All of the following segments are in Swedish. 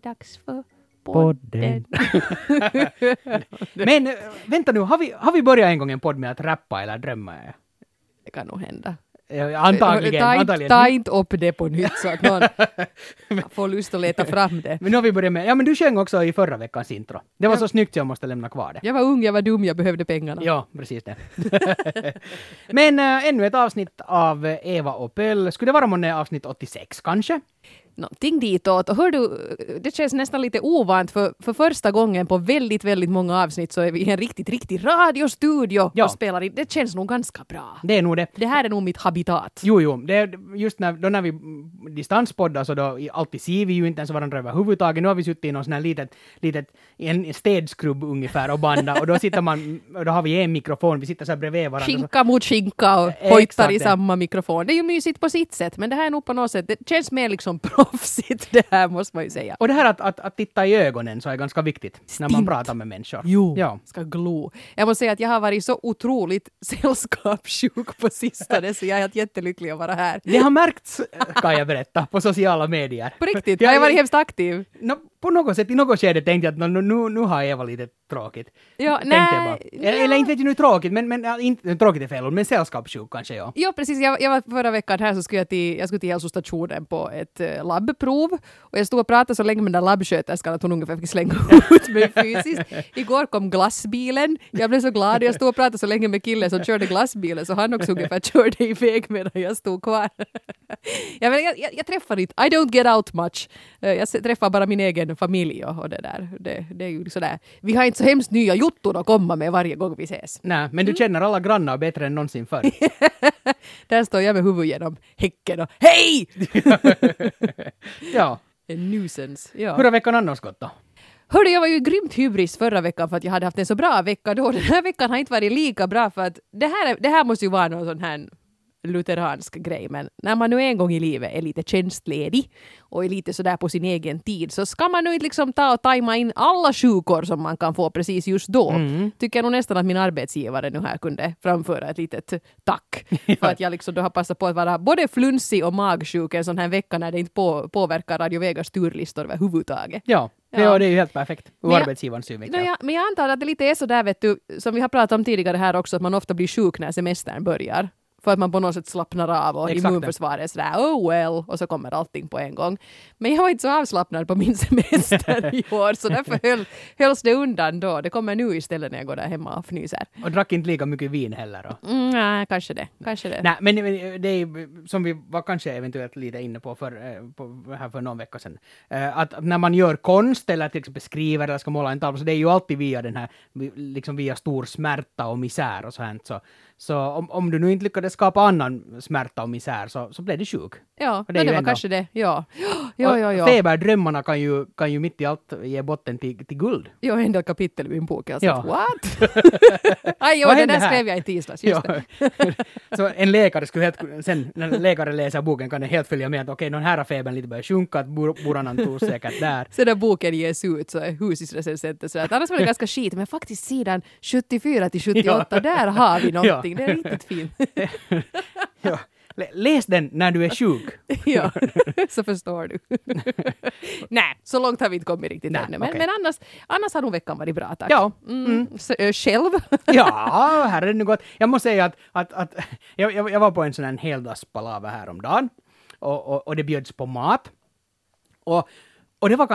dags för podden. Men vänta nu, har vi börjat en gång en podd med att rappa eller drömma? Det kan nog hända. Antagligen. Ta inte upp det på nytt så att någon får lust att leta fram det. Men nu har vi börjat med, ja men du sjöng också i förra veckans intro. Det var så snyggt så jag måste lämna kvar det. Jag var ung, jag var dum, jag behövde pengarna. Ja, precis det. Men ännu ett avsnitt av Eva och Pöll. Skulle det vara månne avsnitt 86 kanske? Någonting ditåt. Och hör du, det känns nästan lite ovant för första gången på väldigt, väldigt många avsnitt så är vi i en riktig radiostudio och spelar in. Det känns nog ganska bra. Det är nog det. Det här är nog mitt habitat. Jo, det är just när vi distanspoddar så då alltid ser vi ju inte ens varandra överhuvudtaget. Nu har vi suttit i någon sån här litet en städskrubb ungefär och banda och då sitter man, och då har vi en mikrofon, vi sitter så här bredvid varandra. Skinka mot skinka och hojtar i samma mikrofon. Det är ju mysigt på sitt sätt, men det här är nog på något sätt, det känns mer liksom proffsigt det här måste man ju säga. Och det här att titta i ögonen så är ganska viktigt när man pratar med människor. Jo, ska glo. Jag måste säga att jag har varit så otroligt sällskapssjuk på sistone så jag är helt jättelycklig att vara här. Det har märkts, kan jag berätta, på sociala medier. På riktigt, jag har varit hemskt aktiv. På något sätt, i något skede tänkte jag att nu har Eva lite tråkigt. Ja, nej. Eller inte vet jag nu tråkigt, men inte tråkigt är fel, men sällskapssjuk kanske, ja. Ja, precis. Jag var förra veckan här så skulle jag skulle till hälsostationen på ett labbprov och jag stod och pratade så länge med den där labbsköterskan att hon ungefär fick slänga ut mig fysiskt. Igår kom glassbilen. Jag blev så glad. Jag stod och pratade så länge med killen som körde glassbilen så han också ungefär körde iväg medan jag stod kvar. Jag träffar inte. I don't get out much. Jag träffar bara min egen familj och det där. Det är ju sådär. Vi har inte så hemskt nya jotton att komma med varje gång vi ses. Nej, men du känner alla grannar bättre än någonsin förr. Där står jag med huvudet genom häcken och hej! Ja. En nuisance. Ja. Hur har veckan annars gått då? Hörde, jag var ju grymt hybris förra veckan för att jag hade haft en så bra vecka då. Den här veckan har inte varit lika bra för att det här måste ju vara någon sån här lutheransk grej, men när man nu en gång i livet är lite tjänstledig och är lite sådär på sin egen tid så ska man nu inte liksom ta och tajma in alla sjukor som man kan få precis just då. Tycker jag nog nästan att min arbetsgivare nu här kunde framföra ett litet tack för att jag liksom då har passat på att vara både flunsig och magsjuk en sån här vecka när det inte påverkar Radio Vegas turlistor överhuvudtaget. Ja, det är ju helt perfekt. Och arbetsgivarens synvinkel. Men jag antar att det lite är så där, vet du, som vi har pratat om tidigare här också, att man ofta blir sjuk när semestern börjar. För att man på något sätt slappnar av och immunförsvaret är sådär, oh well, och så kommer allting på en gång. Men jag var inte så avslappnad på min semester i år, så därför hölls det undan då. Det kommer nu istället när jag går där hemma och fnyser. Och drack inte lika mycket vin heller då? Nej, kanske det. Nej, men det är som vi var kanske eventuellt lite inne på här för någon vecka sedan. Att när man gör konst eller till exempel skriver eller ska måla en tavla, så det är ju alltid via den här, liksom via stor smärta och misär och så här. Så om du nu inte lyckades skapa annan smärta och misär så blev det sjuk. Ja, det var kanske det. Ja. Feberdrömmarna kan ju mitt i allt ge botten till guld. Ja, en del kapitel i min bok. Alltså, ja. What? Aj, det där skrev jag i tisdags. Just det. Så en läkare skulle sen när läkaren läser boken kan den helt följa med att okej, någon här har febern lite börjat sjunka, att boranan tog säkert där. Så när boken ges ut så är husisrecensenten så att annars var det ganska skit, men faktiskt sidan 74 till 78, där har vi någonting. Det är riktigt fint. Ja. Läs den när du är sjuk. Ja, så förstår du. Nej, så långt har vi inte kommit riktigt ännu. Men annars har nog veckan varit bra, tack. Ja. Själv? Ja, här är det nu gott. Jag måste säga att jag var på en sån här heldagspalaver häromdagen. Och det bjöds på mat. Och det var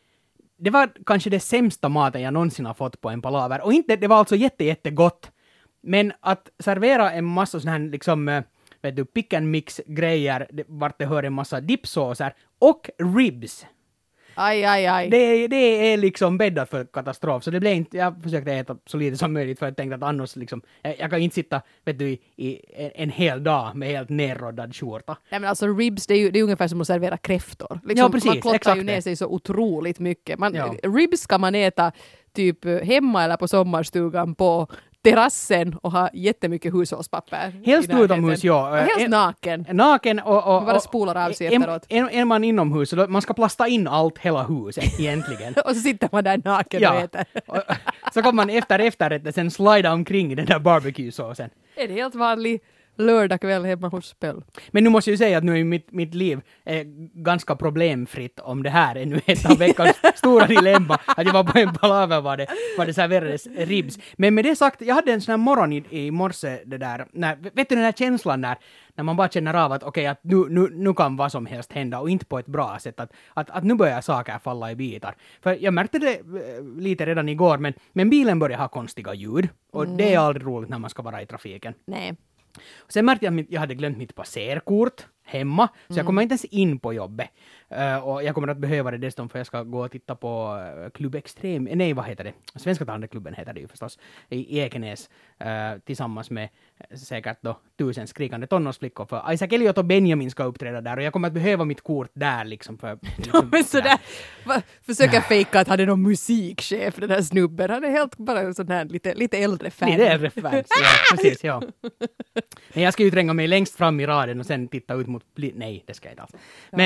kanske det sämsta maten jag någonsin har fått på en palaver. Och inte, det var alltså jättegott. Men att servera en massa sån här liksom, vet du, pick and mix grejer vart det hör en massa dipsåser och ribs. Aj. Det är liksom bäddat för katastrof. Så det blev inte, jag försökte äta så lite som möjligt för jag tänkte att annars liksom, jag kan inte sitta, vet du, i en hel dag med helt nerroddad skjorta. Nej, men alltså ribs, det är ungefär som att servera kräftor. Liksom, ja, precis. Man klottar ju ner sig så otroligt mycket. Ribs ska man äta typ hemma eller på sommarstugan på terrassen och ha jättemycket hushållspapper. Helst utomhus, ja. Och helst naken. Naken och bara spolar av sig efteråt. Är man inomhus, så man ska plasta in allt, hela huset egentligen. Och så sitter man där naken och äter. Så kommer man efter efterrätten sen slida omkring i den där barbecue-såsen. En helt vanlig lördag kväll hemma hos Pöll. Men nu måste jag ju säga att nu är mitt liv ganska problemfritt om det här är nu ett av veckans stora dilemma. Att jag var på en palaver var det serverades ribs. Men med det sagt, jag hade en sån här morgon i morse det där, vet du den här känslan när man bara känner av att okej, att nu kan vad som helst hända och inte på ett bra sätt. Att nu börjar saker falla i bitar. För jag märkte det lite redan igår, men bilen börjar ha konstiga ljud. Och det är aldrig roligt när man ska vara i trafiken. Nej. Sen märkte jag att jag hade glömt mitt passerkort hemma, så jag kommer inte ens in på jobbet. Och jag kommer att behöva det dessutom för jag ska gå och titta på Klubb Extrem, nej vad heter det? Svenska Tandeklubben heter det ju förstås, i Ekenäs, tillsammans med säkert då 1000 skrikande tonårsflickor, för Isaac Elliot och Benjamin ska uppträda där och jag kommer att behöva mitt kort där liksom för... Liksom, Men sådär, försöka fejka att han är någon musikchef, den här snubben. Han är helt bara en sån här lite äldre fan. Lite äldre fans, ja, precis, ja. Men jag ska ju tränga mig längst fram i raden och sen titta ut mot... Nej, det ska jag inte alls.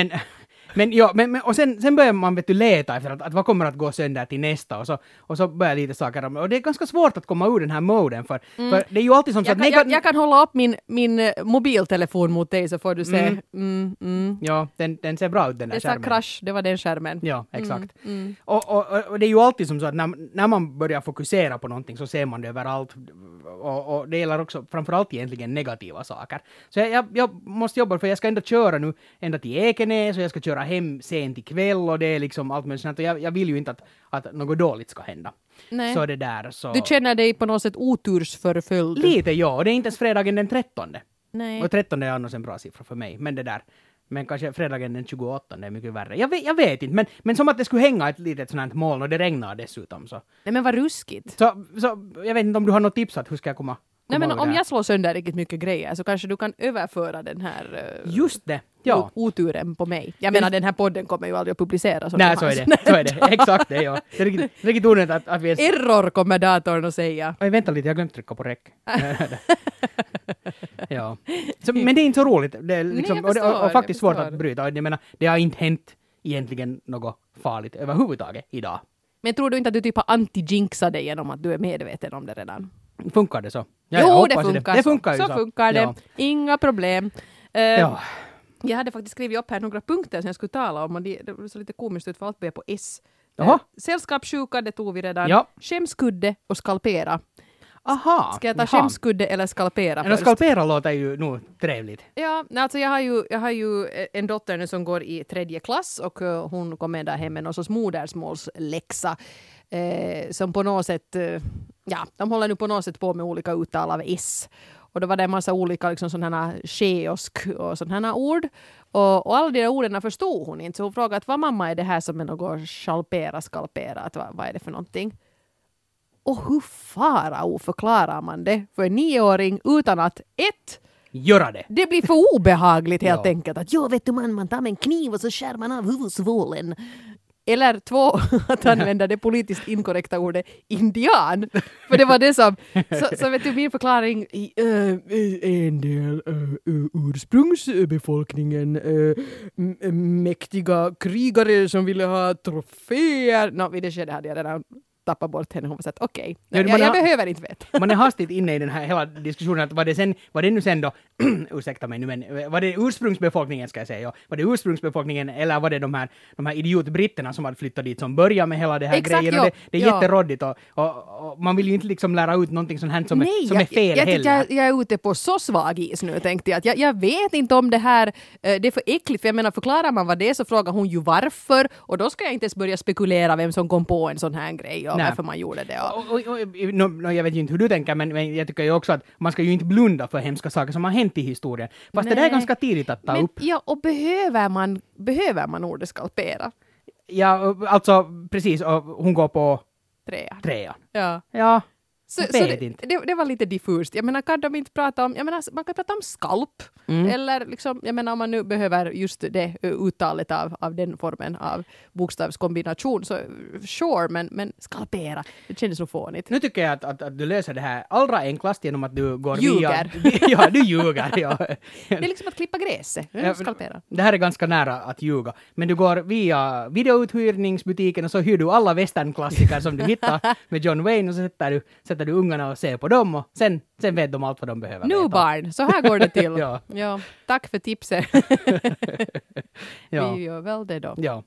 Men och sen börjar man leta efter att vad kommer att gå sönder till nästa och så börjar lite saker. Och det är ganska svårt att komma ur den här moden för det är ju alltid som så att... Jag kan hålla upp min mobiltelefon mot dig så får du se. Ja, den ser bra ut den där skärmen. Det sa krasch, det var den skärmen. Ja, exakt. Och det är ju alltid som så att när man börjar fokusera på någonting så ser man det överallt. Och det gäller också framförallt egentligen negativa saker. Så jag måste jobba för jag ska ändå köra nu ända till Ekenäs och jag ska köra hem sent ikväll och det är liksom allt möjligt sånt. Och jag vill ju inte att något dåligt ska hända. Nej. Så det där så... Du känner dig på något sätt otursförföljd? Lite, ja. Och det är inte ens fredagen den 13. Nej. Och 13 är annars en bra siffra för mig. Men det där... Men kanske fredagen den 28 är mycket värre. Jag vet inte, men som att det skulle hänga ett litet sånt här moln och det regnar dessutom. Så. Nej men vad ruskigt. Så jag vet inte om du har något tips att hur ska jag komma Nej men om där? jag slår sönder riktigt mycket grejer så kanske du kan överföra den här just det, ja. Oturen på mig. Jag menar den här podden kommer ju aldrig att publiceras. Nej, så är det. Exakt det, ja. Det är riktigt onödigt att vi är... Error kommer datorn att säga. Oj, vänta lite, jag har glömt trycka på räck. Ja. Så, men det är inte så roligt. Det är liksom, Nej, och faktiskt svårt att bryta. Jag menar, det har inte hänt egentligen något farligt överhuvudtaget idag. Men tror du inte att du typ har anti-jinxat dig genom att du är medveten om det redan? Funkar det så? Ja, jo, det funkar. Det funkar ju så. Funkar det. Ja. Inga problem. Ja. Jag hade faktiskt skrivit upp här några punkter som jag skulle tala om och det så lite komiskt ut för allt börjar på S. Jaha. Sällskapssjuka, det tog vi redan. Ja. Skämskudde och skalpera. Aha. Ska jag ta skämskudde eller skalpera först? Skalpera låter ju nog trevligt. Ja, alltså jag har ju en dotter nu som går i 3:e klass och hon kom med där hem med någon sorts modersmålsläxa som på något sätt, de håller nu på något sätt på med olika uttal av S. Och då var det en massa olika liksom sådana skeosk och sådana ord. Och alla de där orden förstod hon inte. Så hon frågade att vad mamma är det här som är något skalpera, att vad är det för någonting? Och hur farao förklarar man det för en 9-åring utan att göra det. Det blir för obehagligt helt Ja. enkelt. Att vet du man tar med en kniv och så skär man av huvudsvålen. Eller 2, att använda det politiskt inkorrekta ordet indian. För det var det som, så vet du min förklaring en del ursprungsbefolkningen mäktiga krigare som ville ha troféer. Vid det skedet hade jag redan tappat bort henne. Hon var så att okej, jag behöver inte veta. Man är hastigt inne i den här hela diskussionen att var det nu sen då ursäkta mig nu, men var det ursprungsbefolkningen ska jag säga, ja. Var det ursprungsbefolkningen eller var det de här idiotbritterna som hade flyttat dit som började med hela det här Exakt, grejen? ja. Och det är jätteroddigt och man vill ju inte liksom lära ut någonting sånt här som är fel heller. Jag är ute på så svag is nu tänkte jag. Att jag vet inte om det här, det är för äckligt för jag menar förklarar man vad det är så frågar hon ju varför och då ska jag inte ens börja spekulera vem som kom på en sån här grej och varför man gjorde det. Jag vet ju inte hur du tänker men jag tycker ju också att man ska ju inte blunda för hemska saker som har hänt i historien. Fast det där är ganska tidigt att ta upp. Ja, och behöver man ordet skalpera? Ja, alltså precis. Och hon går på 3. Ja. Så det var lite diffust. Jag menar, kan de inte prata om... Jag menar, man kan prata om skalp. Eller liksom, jag menar, om man nu behöver just det uttalet av den formen av bokstavskombination så sure, men skalpera. Det kändes så fånigt. Nu tycker jag att du löser det här allra enklast genom att du går ljuger. Ja, du ljuger. Ja. Det är liksom att klippa gräset. Skalpera. Det här är ganska nära att ljuga. Men du går via videouthyrningsbutiken och så hyr du alla westernklassiker som du hittar med John Wayne och så sätter sätter du ungarna och ser på dem och sen vet de allt vad de behöver Nu veta. barn, så här går det till. Ja. Ja, tack för tipset. Ja. Vi gör väl det då. Ja.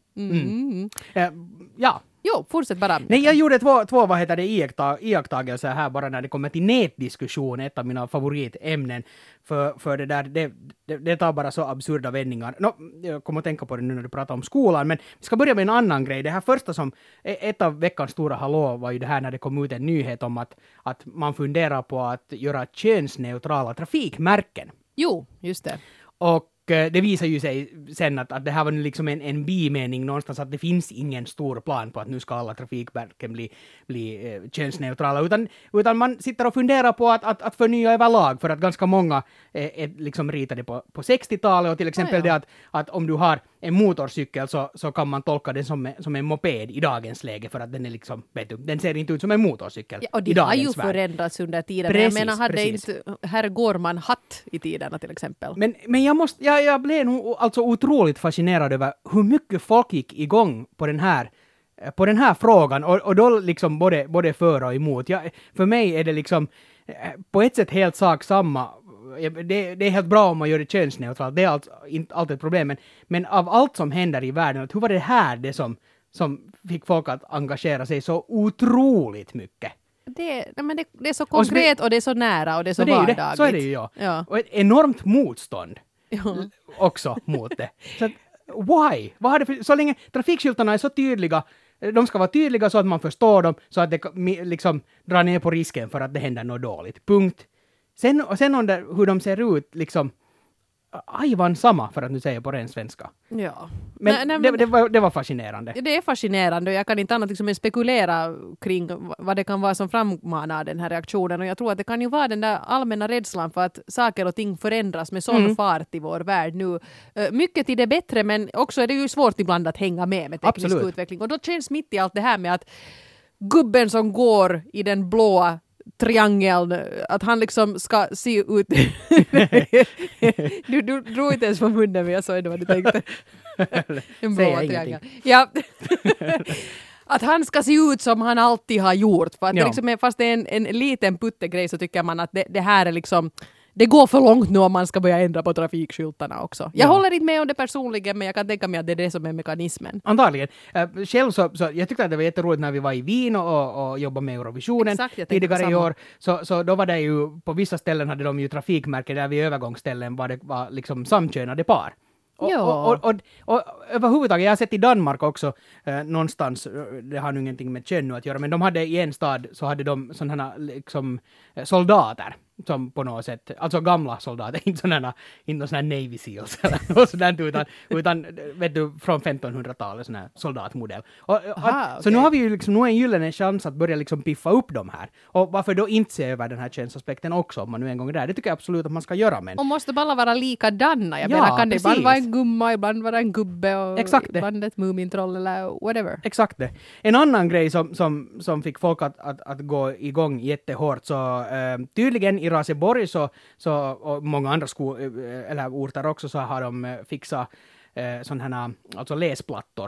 Ja. Jo, fortsätt bara. Nej, jag gjorde två vad heter det, iakttagelser här bara när det kommer till nätdiskussion, ett av mina favoritämnen. För det där, det tar bara så absurda vändningar. Jag kommer att tänka på det nu när du pratar om skolan, men vi ska börja med en annan grej. Det här första som, ett av veckans stora hallå var ju det här när det kom ut en nyhet om att man funderar på att göra könsneutrala trafikmärken. Jo, just det. Och det visar ju sig sen att det här var liksom en bimening någonstans, att det finns ingen stor plan på att nu ska alla trafikmärken bli könsneutrala, utan man sitter och funderar på att förnya överlag, för att ganska många är liksom ritade på 60-talet, och till exempel det att om du har en motorcykel så kan man tolka den som en moped i dagens läge, för att den är liksom, vet du, den ser inte ut som en motorcykel. Ja, och i det har ju dagens värld. Förändrats under tiden. Precis, men jag menar, hade precis. inte herr Gårman hatt i tiderna till exempel? Men jag blev nog alltså otroligt fascinerad över hur mycket folk gick igång på den här frågan, och då liksom både för och emot. För mig är det liksom på ett sätt helt sak samma. Det är helt bra om man gör det könsneutralt, det är inte alltid ett problem, men av allt som händer i världen, hur var det här det som fick folk att engagera sig så otroligt mycket? Det är så konkret och det är så nära och det är så vardagligt. Så är det ju, ja. Och ett enormt motstånd också mot det. Så why? Vad har det för, så länge trafikskyltarna är så tydliga, de ska vara tydliga så att man förstår dem, så att det liksom drar ner på risken för att det händer något dåligt. Punkt. Sen hur de ser ut, liksom ajvan samma, för att nu säga på ren svenska. Ja. Men det var fascinerande. Det är fascinerande, och jag kan inte annat liksom än spekulera kring vad det kan vara som frammanar den här reaktionen, och jag tror att det kan ju vara den där allmänna rädslan för att saker och ting förändras med sån fart i vår värld nu. Mycket till det bättre, men också är det ju svårt ibland att hänga med teknisk utveckling, och då känns mitt i allt det här med att gubben som går i den blåa triangeln, att han liksom ska se ut du drog inte ens på munnen, men jag såg det vad du tänkte. En blå triangel. Ja. Att han ska se ut som han alltid har gjort, för att det liksom är, fast det är en liten puttegrej, så tycker man att det här är liksom, det går för långt nu om man ska börja ändra på trafikskyltarna också. Jag håller inte med om det personligen, men jag kan tänka mig att det är det som är mekanismen. Antagligen. Själv så jag tyckte att det var jätteroligt när vi var i Wien och jobbade med Eurovisionen tidigare i år. Så då var det ju, på vissa ställen hade de ju trafikmärken där vid övergångsställen var liksom samkönade par. Och överhuvudtaget, jag har sett i Danmark också någonstans, det har nu ingenting med kön att göra, men de hade i en stad, så hade de sådana liksom soldater som på något sätt, alltså gamla soldater, inte sådana Navy Seals eller något sådant, utan vet du, från 1500-talet, sån här soldatmodell. Så nu har vi ju liksom, nu en gyllene chans att börja liksom piffa upp de här. Och varför då inte se över den här könsaspekten också, om man nu en gång är där? Det tycker jag absolut att man ska göra. Men... Och måste bara vara likadana. Jag menar, kan det ibland vara en gumma, ibland vara en gubbe och ibland ett mumintroll eller whatever. Exakt det. En annan grej som fick folk att gå igång jättehårt, så tydligen i Raseborg och många andra eller orter också, så har de fixat sådana här, alltså läsplattor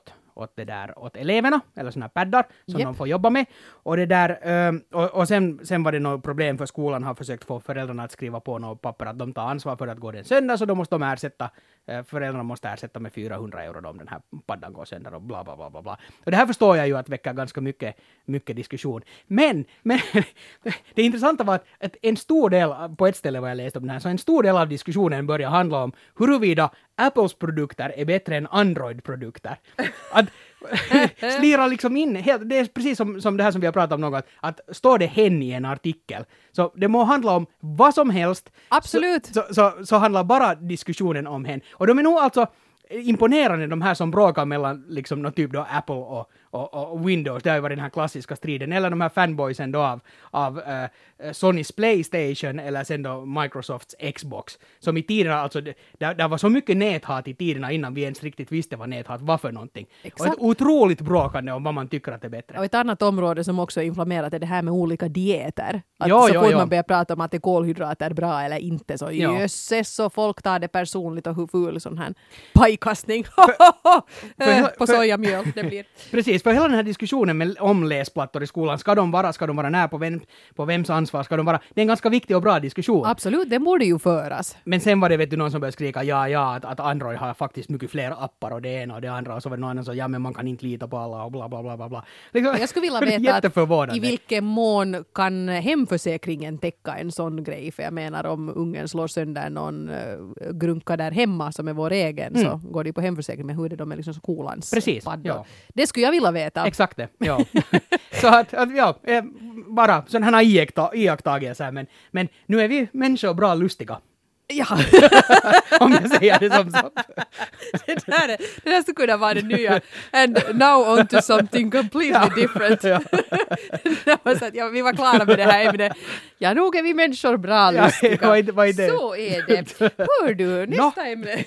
åt eleverna, eller sådana här paddar som de får jobba med. Och det där, och sen var det något problem, för skolan har försökt få föräldrarna att skriva på något papper att de tar ansvar för att gå den sönder, så då måste föräldrarna måste ersätta med 400 euro om den här paddan går sönder och bla bla bla bla bla. Och det här förstår jag ju att väcka ganska mycket diskussion. Men det intressanta var att en stor del, på ett ställe var jag läste om den här, så en stor del av diskussionen börjar handla om huruvida Apples produkter är bättre än Android-produkter. Att slira liksom in, det är precis som det här som vi har pratat om något, att står det hen i en artikel, så det må handla om vad som helst. Absolut. Så handlar bara diskussionen om hen. Och de är nog alltså imponerande, de här som bråkar mellan liksom någon typ då Apple och Windows. Det har ju varit den här klassiska striden. Eller de här fanboysen då av Sonys PlayStation, eller sen då Microsofts Xbox. Som i tiderna, alltså där var så mycket näthat i tiderna innan vi ens riktigt visste vad näthat var för någonting. Exakt. Och ett otroligt bråkande om vad man tycker att det är bättre. Och ett annat område som också är inflammerat är det här med olika dieter. Att så fort man börjar prata om att det kolhydrater är bra eller inte, så jösses, så folk tar det personligt och hur ful sån här pajkastning på sojamjöl det blir. Precis, för hela den här diskussionen om läsplattor i skolan, ska de vara när, på vems ansvar ska de vara? Det är en ganska viktig och bra diskussion. Absolut, det borde ju föras. Men sen var det, vet du, någon som började skrika att Android har faktiskt mycket fler appar och det ena och det andra, och så var det någon annan som men man kan inte lita på alla och bla bla bla bla bla. Liksom, jag skulle vilja veta att i vilken mån kan hemförsäkringen täcka en sån grej, för jag menar om ungen slår sönder någon grunka där hemma som är vår egen, så går det på hemförsäkring, med hur det de är liksom skolans paddor. Ja. Det skulle jag vilja veta. Exakt det, ja. Så att bara sådana här iakttagelser, men nu är vi människor bra lustiga. Ja. Om jag säger det som så. det där skulle kunna vara det nya. And now on to something completely different. Ja. Vi var klara med det här ämnet. Ja, nog är vi människor bra lustiga. Vad är det? Så är det. Hör du, nästa ämne.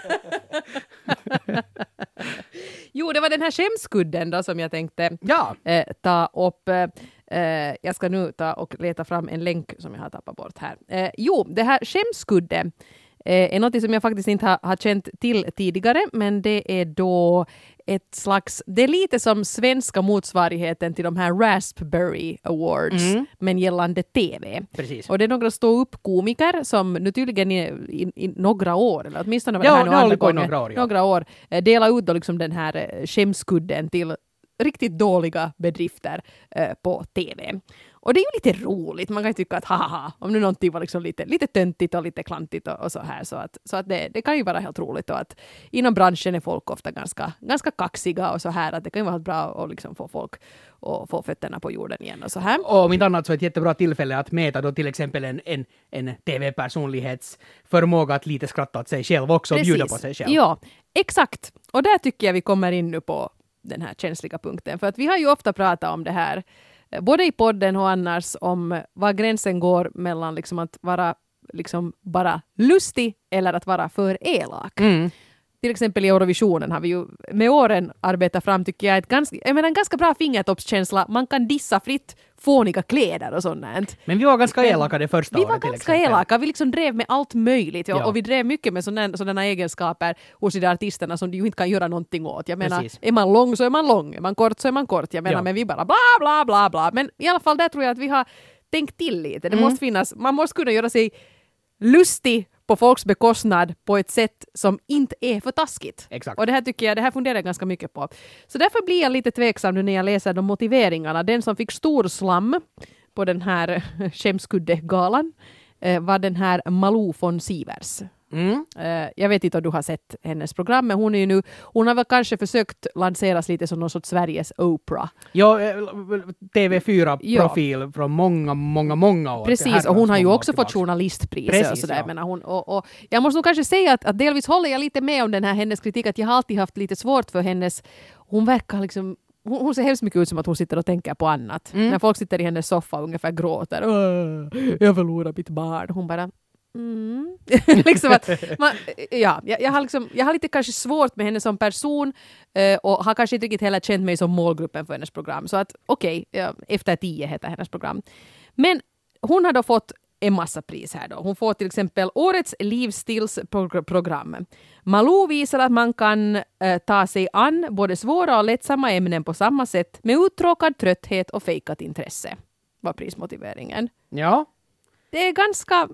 Jo, det var den här skämskudden då som jag tänkte ta upp. Jag ska nu ta och leta fram en länk som jag har tappat bort här. Det här skämskudden är något som jag faktiskt inte har känt till tidigare, men det är då ett slags, det är lite som svenska motsvarigheten till de här Raspberry Awards, men gällande TV. Precis. Och det är några stå-upp-komiker som nu tydligen i några år, eller åtminstone det här några år, delar ut då liksom den här skämskudden till riktigt dåliga bedrifter på TV. Och det är ju lite roligt. Man kan ju tycka att haha, om nu någonting var liksom lite töntigt och lite klantigt och så här. Så att det kan ju vara helt roligt. Och att inom branschen är folk ofta ganska kaxiga och så här. Att det kan ju vara bra att liksom få folk och få fötterna på jorden igen och så här. Och om inte annat så är ett jättebra tillfälle att mäta då till exempel en TV-personlighets förmåga att lite skratta åt sig själv också. Och bjuda på sig själv. Ja, exakt. Och där tycker jag vi kommer in nu på den här känsliga punkten. För att vi har ju ofta pratat om det här, både i podden och annars, om var gränsen går mellan liksom att vara liksom bara lustig eller att vara för elak. Till exempel i Eurovisionen har vi ju med åren arbetat fram, tycker jag, en ganska bra fingertoppskänsla. Man kan dissa fritt fåniga kläder och sånt. Men vi var ganska elaka det första året. Vi var ganska elaka. Vi liksom drev med allt möjligt. Och vi drev mycket med sådana egenskaper hos de artisterna som du ju inte kan göra någonting åt. Jag menar, är man lång så är man lång. Är man kort så är man kort. Jag menar, men vi bara bla bla bla bla. Men i alla fall där tror jag att vi har tänkt till lite. Det måste finnas, man måste kunna göra sig lustig på folks bekostnad på ett sätt som inte är för taskigt. Exakt. Och det här funderar jag ganska mycket på. Så därför blir jag lite tveksam nu när jag läser de motiveringarna. Den som fick stor slam på den här skämskuddegalan var den här Malou von Sivers. Jag vet inte om du har sett hennes program, men hon har väl kanske försökt lanseras lite som någon sorts Sveriges Oprah. Ja, TV4-profil från många år. Precis, och hon har ju också fått journalistpriser och sådär. Ja. Och jag måste nog kanske säga att delvis håller jag lite med om den här hennes kritik, att jag har alltid haft lite svårt för hennes, hon verkar liksom, hon ser hemskt mycket ut som att hon sitter och tänker på annat. När folk sitter i hennes soffa och ungefär gråter, jag förlorar mitt barn, hon bara liksom att jag har lite kanske svårt med henne som person och har kanske inte riktigt heller känt mig som målgruppen för hennes program. Så att Efter 10 heter hennes program. Men hon har då fått en massa pris här då. Hon får till exempel årets livsstilsprogram. Malou visar att man kan ta sig an både svåra och lättsamma ämnen på samma sätt med uttråkad trötthet och fejkat intresse. Var prismotiveringen. Ja. Det är ganska...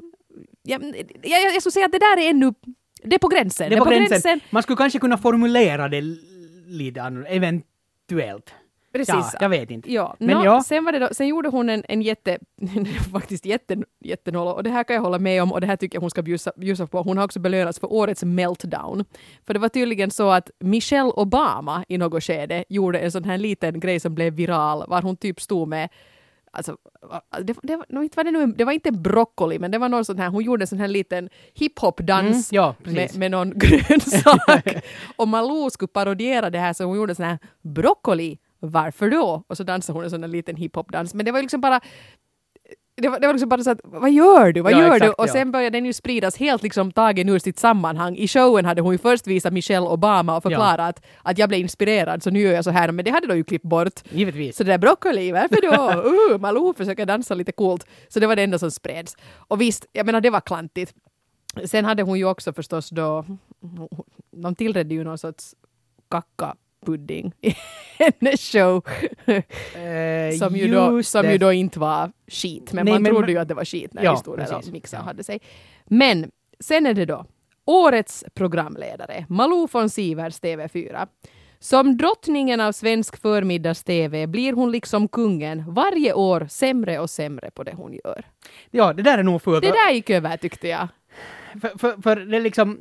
Jag skulle säga att det där är ännu... Det är på gränsen. Det är på gränsen. Man skulle kanske kunna formulera det lite annorlunda, eventuellt. Precis. Ja, jag vet inte. Ja. Men sen gjorde hon en faktiskt jättenoll, och det här kan jag hålla med om, och det här tycker jag hon ska bjussa på. Hon har också belönats för årets meltdown. För det var tydligen så att Michelle Obama i något skede gjorde en sån här liten grej som blev viral, var hon typ stod med, alltså, det var inte broccoli, men det var någon sån här, hon gjorde en sån här liten hiphop-dans med någon grönsak. Och Malou skulle parodiera det här, så hon gjorde sån här broccoli, varför då? Och så dansade hon en sån här liten hiphop-dans. Men det var liksom bara det var liksom bara så att, vad gör du? Och sen började den ju spridas helt liksom tagen ur sitt sammanhang. I showen hade hon ju först visat Michelle Obama och förklarat att jag blev inspirerad, så nu gör jag så här. Men det hade de ju klippt bort. Givetvis. Så det där broccoli, varför då? Malou försöker dansa lite coolt. Så det var det enda som spreds. Och visst, jag menar, det var klantigt. Sen hade hon ju också förstås då, de tillredde ju någon sorts pudding i hennes show. som ju då inte var skit. Men man trodde ju att det var skit när historien om mixen hade sig. Men sen är det då årets programledare, Malou von Sivers TV4. Som drottningen av svensk förmiddags-TV blir hon liksom kungen varje år sämre och sämre på det hon gör. Ja, det där är nog fullt. Det där gick över tyckte jag. För det är liksom,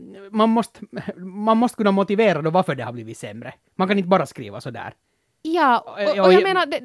man måste kunna motivera då varför det har blivit sämre. Man kan inte bara skriva så där. Ja, och jag menar,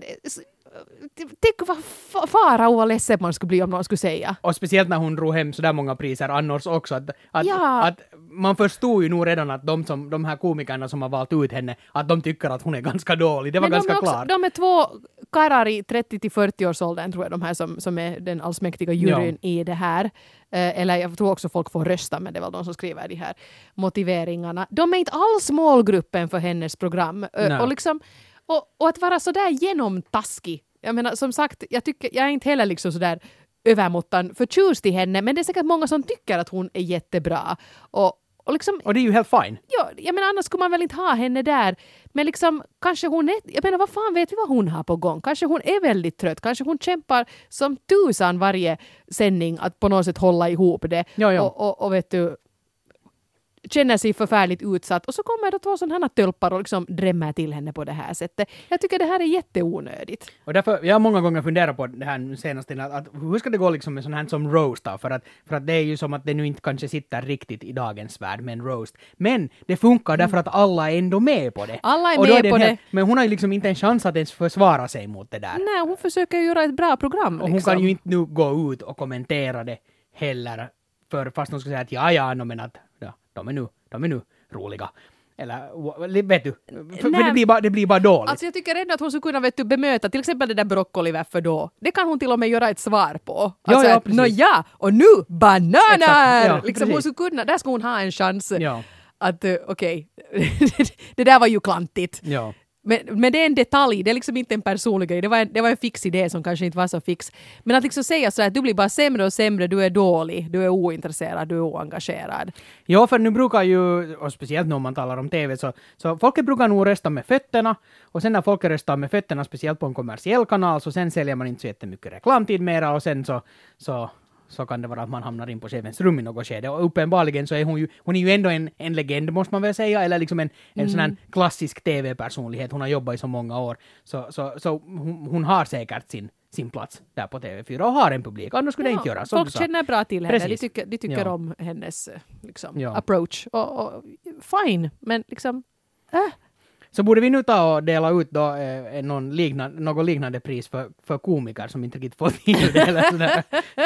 tänk vad fara och ledsen man skulle bli om någon skulle säga. Och speciellt när hon drog hem så där många priser annars också. Att man förstod ju nog redan att de här komikerna som har valt ut henne, att de tycker att hon är ganska dålig. Det var ganska klart. De är två karlar i 30-40-årsåldern tror jag, de här som är den allsmäktiga juryn i det här. Eller jag tror också folk får rösta, men det är väl de som skriver de här motiveringarna. De är inte alls målgruppen för hennes program. Och liksom och att vara så där genomtaskig. Jag menar, som sagt, jag är inte heller liksom så där övermåttan förtjust i henne, men det är säkert många som tycker att hon är jättebra. Och liksom, och det är ju helt fine. Ja, jag menar, annars skulle man väl inte ha henne där. Men liksom, kanske hon är, jag menar, vad fan vet vi vad hon har på gång? Kanske hon är väldigt trött. Kanske hon kämpar som tusan varje sändning att på något sätt hålla ihop det. Ja. Och vet du, känner sig förfärligt utsatt. Och så kommer det två sådana här tölpar och liksom drämmer till henne på det här sättet. Jag tycker det här är jätteonödigt. Och därför, jag har många gånger funderat på det här senaste, att hur ska det gå liksom med sån här som roast då? För att det är ju som att det nu inte kanske sitter riktigt i dagens värld med en roast. Men det funkar därför att alla är ändå med på det. Alla är med på det. Men hon har ju liksom inte en chans att ens försvara sig mot det där. Nej, hon försöker göra ett bra program. Och hon kan ju inte nu gå ut och kommentera det heller. För fast hon ska säga att men att de är nu roliga. Eller, vet du, för det blir bara dåligt. Alltså jag tycker redan att hon skulle kunna bemöta till exempel det där broccoli varför då. Det kan hon till och med göra ett svar på. Alltså och nu bananer! Exakt, ja, liksom hon skulle kunna, där skulle hon ha en chans att okej, det där var ju klantigt. Ja. Men det är en detalj, det är liksom inte en personlig grej. Det var en fix idé som kanske inte var så fix. Men att liksom säga så att du blir bara sämre och sämre, du är dålig, du är ointresserad, du är oengagerad. Ja, för nu brukar ju, och speciellt när man talar om TV, så folk brukar nog rösta med fötterna. Och sen när folk röstar med fötterna, speciellt på en kommersiell kanal, så sen säljer man inte så jättemycket reklamtid mera och sen så kan det vara att man hamnar in på chefens rum i något skede. Och uppenbarligen så är hon är ju ändå en legend, måste man väl säga, eller liksom en sån här klassisk TV-personlighet. Hon har jobbat i så många år. Så hon har säkert sin plats där på TV4 och har en publik. Annars skulle det inte göra. Folk känner bra till henne. De tycker om hennes liksom, approach. Och fine, men liksom... Så borde vi nu ta och dela ut då något liknande pris för komiker som inte riktigt får till det eller sådär.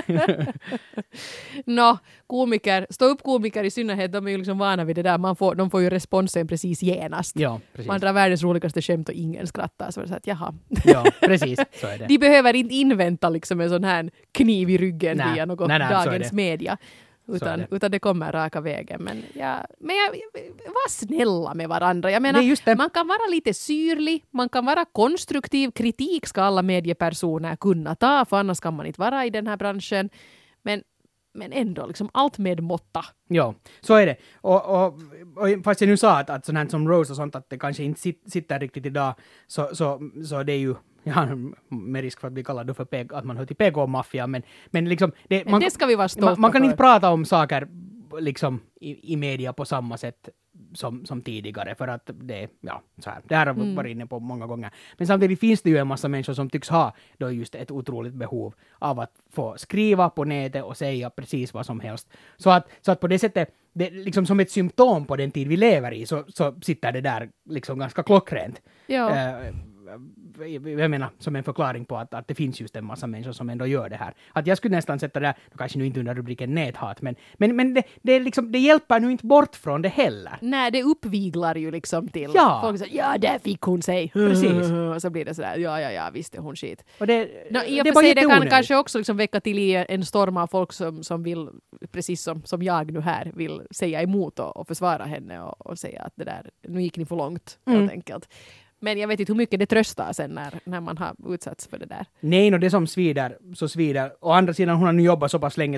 Stå upp komiker i synnerhet, de är ju liksom vana vid det där. De får ju responsen precis genast. Ja, precis. Man drar världens roligaste skämt och ingen skrattar. Så är det så att jaha. Ja, precis. Så är det. De behöver inte invänta liksom en sån här kniv i ryggen via något dagens media. Utan det kommer raka vägen. Men var snälla med varandra. Jag menar, man kan vara lite syrlig, man kan vara konstruktiv. Kritik ska alla mediepersoner kunna ta, för annars kan man inte vara i den här branschen. Men ändå, liksom allt med måtta. Ja, så är det. Och fast jag nu sa att sånt här som Rose och sånt, att det kanske inte sitter riktigt idag, så det är ju med risk för att bli kallad för att man hör till PK-maffia, men liksom... Det ska vi vara stolta man kan inte prata om saker liksom i media på samma sätt som tidigare, för att det här har vi varit inne på många gånger. Men samtidigt finns det ju en massa människor som tycks ha då just ett otroligt behov av att få skriva på nätet och säga precis vad som helst. Så att på det sättet, det, liksom som ett symptom på den tid vi lever i, så sitter det där liksom ganska klockrent. Ja. Jag menar, som en förklaring på att det finns just en massa människor som ändå gör det här. Att jag skulle nästan sätta det, kanske nu inte under rubriken näthat, men det, liksom, det hjälper nu inte bort från det heller. Nej, det uppviglar ju liksom till. Ja. Folk säger, där fick hon sig. Precis. Och så blir det sådär, ja, visst är hon skit. Och det kan kanske också liksom väcka till en storm av folk som vill, precis som jag nu här, vill säga emot och försvara henne och säga att det där, nu gick ni för långt, helt enkelt. Men jag vet inte hur mycket det tröstar sen när man har utsatts för det där. Nej, det som svider, så svider. Å andra sidan, hon har nu jobbat så pass länge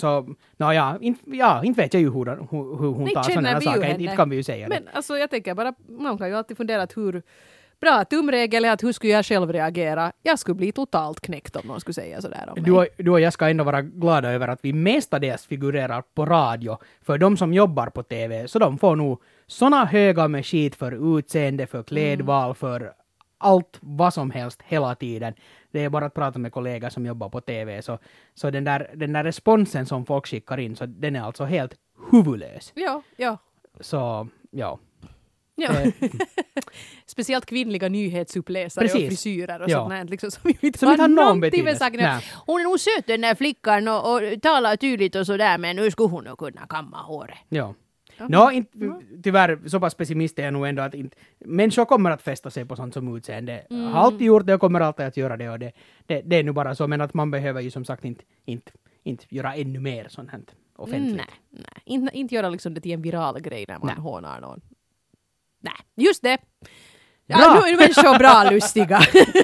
inte vet jag ju hur hon tar sådana här saker. Inte kan vi ju säga men det. alltså jag tänker bara, man kan ju alltid fundera att hur bra tumregel är att hur skulle jag själv reagera? Jag skulle bli totalt knäckt om någon skulle säga sådär om mig. Du och jag ska ändå vara glada över att vi mestadels figurerar på radio. För de som jobbar på TV, så de får nog såna höga med skit för utseende, för klädval, för allt vad som helst hela tiden. Det är bara att prata med kollegor som jobbar på TV. Så den där responsen som folk skickar in, så den är alltså helt huvudlös. Ja. Så, ja. Ja. Speciellt kvinnliga nyhetsuppläsare och frisyrer och sånt där, liksom, som inte har någon betydelse. Hon är nog söt den där flickan och talar tydligt och sådär, men nu skulle hon nog kunna kamma håret. Ja. Tyvärr, så pass pessimist är jag nog ändå att människor kommer att fästa sig på sånt som utseende. Har alltid gjort det och kommer alltid att göra det, och det är nu bara så, men att man behöver ju som sagt inte göra ännu mer sånt här offentligt. Nej. Inte göra liksom det till en viral grej när man hånar någon. Nej, just det. Ja, nu är människor bra lustiga.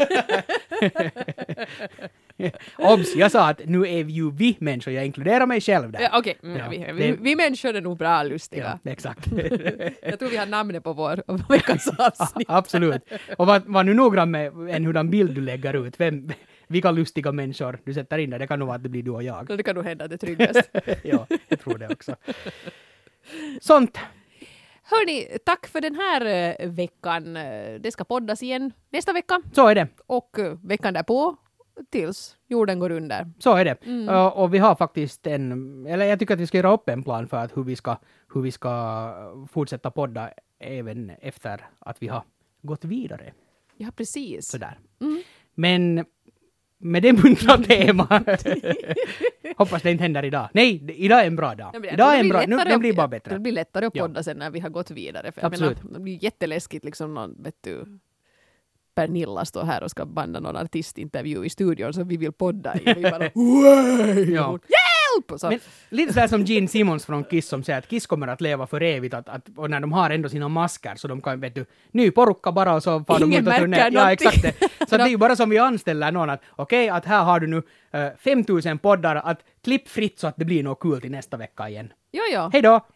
Obs, jag sa att nu är ju vi människor, jag inkluderar mig själv där. Okej, vi människor är nog bra lustiga. Ja, exakt. Jag tror vi har namnet på vår veckans avsnitt. Absolut. Och var nu noggrann med en hurdan bild du lägger ut. Vilka lustiga människor du sätter in där. Det kan nog vara att det blir du och jag. Det kan nog hända, det tryggast. Ja, jag tror det också. Sånt. Hörni, tack för den här veckan. Det ska poddas igen nästa vecka. Så är det. Och veckan därpå tills jorden går under. Så är det. Och vi har faktiskt jag tycker att vi ska göra upp en plan för att hur vi ska fortsätta podda även efter att vi har gått vidare. Ja, precis. Sådär. Men med det muntra tema. Hoppas det inte händer idag. Nej, idag är en bra dag. Idag är en bra, den blir bara bättre. Det blir lättare att podda sen när vi har gått vidare. För absolut. Jag menar, det blir jätteläskigt liksom någon, Pernilla står här och ska banda någon artistintervju i studion som vi vill podda i. Och vi bara, hjälp! Men lite sådär som Gene Simmons från Kiss som säger att Kiss kommer att leva för evigt och när de har ändå sina masker så de kan, ny porukka bara och så far de ut och turner. Ja, exakt det. Så det är ju bara som vi anställer någon att att här har du nu 5000 poddar att klipp fritt så att det blir något kul till nästa vecka igen. Jo. Hej då!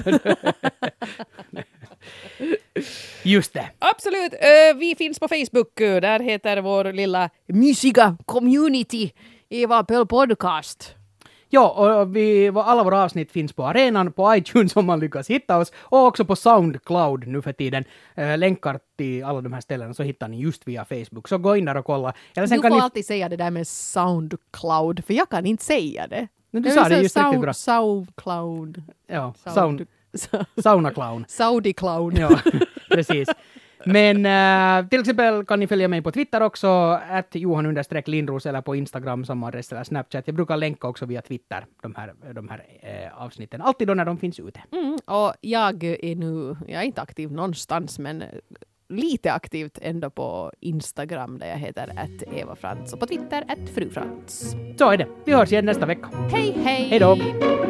Just det. Absolut. Vi finns på Facebook. Där heter vår lilla mysiga community Eva Pöl Podcast. Ja, och alla våra avsnitt finns på arenan, på iTunes om man lyckas hitta oss, och också på Soundcloud nu för tiden. Länkar till alla de här ställena så hittar ni just via Facebook. Så gå in där och kolla. Eller sen du får alltid säga det där med Soundcloud, för jag kan inte säga det. Men du sa det just riktigt bra. Soundcloud. Ja, Saunaclown. Saudi-clown. Ja, precis. Men till exempel kan ni följa mig på Twitter också, @Johan_Lindros, eller på Instagram samma adress eller Snapchat. Jag brukar länka också via Twitter de här avsnitten. Alltid då när de finns ute. Och jag är inte aktiv någonstans, men lite aktivt ändå på Instagram där jag heter @Eva Frans och på Twitter @frufrans. Så är det. Vi hörs igen nästa vecka. Hej! Hej då!